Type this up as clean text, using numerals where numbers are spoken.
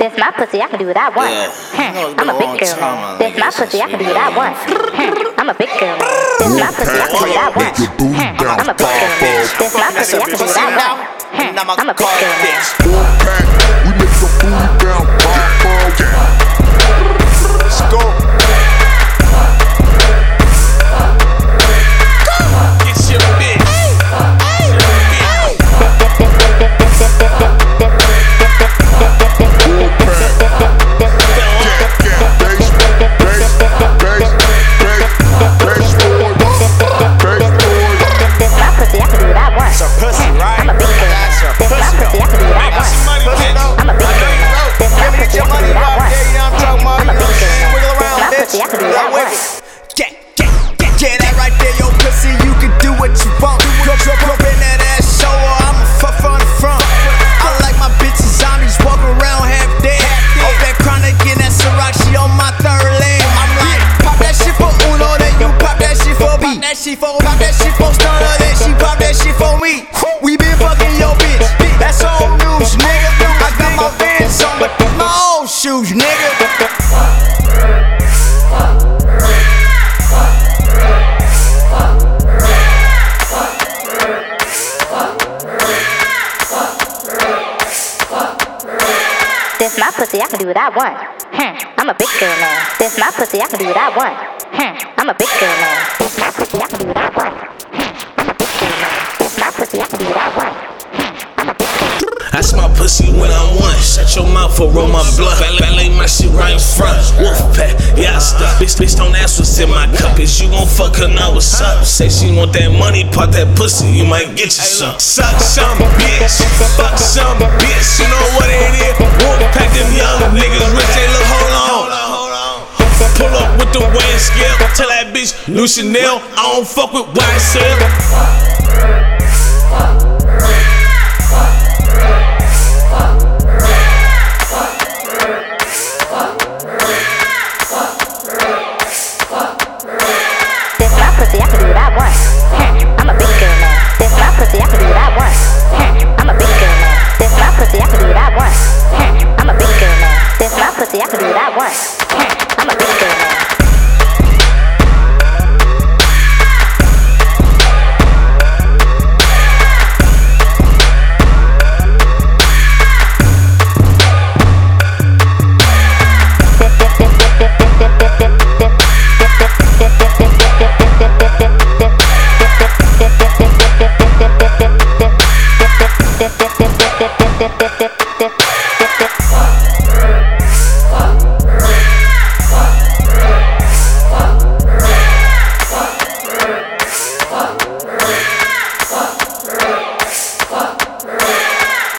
This my pussy, I can do what I want. I'm a big girl now. This my pussy, I can do what I want. I'm a big girl now. This my pussy, I can do what I want. I'm a big girl now. This my pussy, I can do what I want. I'm a big girl now. We make the booty down, pop, let's go. Yeah, that right there, yo, pussy, you can do what you want. Jump in that ass, show her, I'ma fuck from the front. I like my bitches zombies, walk around half dead. Off that chronic and that Ciroc, she on my third leg. I'm like, pop that shit for Uno, then you pop that shit for B. Pop that shit for Stunner, then she pop that shit for me. We been fucking your bitch, that's old news, nigga. I got my Vans on, but my old shoes, nigga. This my pussy, I can do what I want. I'm a big girl now. This my pussy, I can do what I want. I'm a big girl now. This my pussy, I can do what I want. I'm a big girl now. This my pussy, I can do what I want. I'm a big girl. I smell pussy when I want. Shut your mouth or roll my blunt. Ballet my shit right in front. Wolfpack, yeah I stuck. Bitch, don't ask what's in my cup. Is you gon' fuck her now? What's up? Say she want that money, pop that pussy, you might get you some. Suck some bitch, fuck some bitch. You know what it is? Wolfpack them young niggas, rich they look. Hold on. Pull up with the weighing scale. Tell that bitch, new Chanel, I don't fuck with YSL. I can do what I want. I'm a big girl now. This my pussy, I can do what I want. I'm a big girl now. This my pussy, I can do what I want. I'm a big girl now. This my pussy, I can do what I want.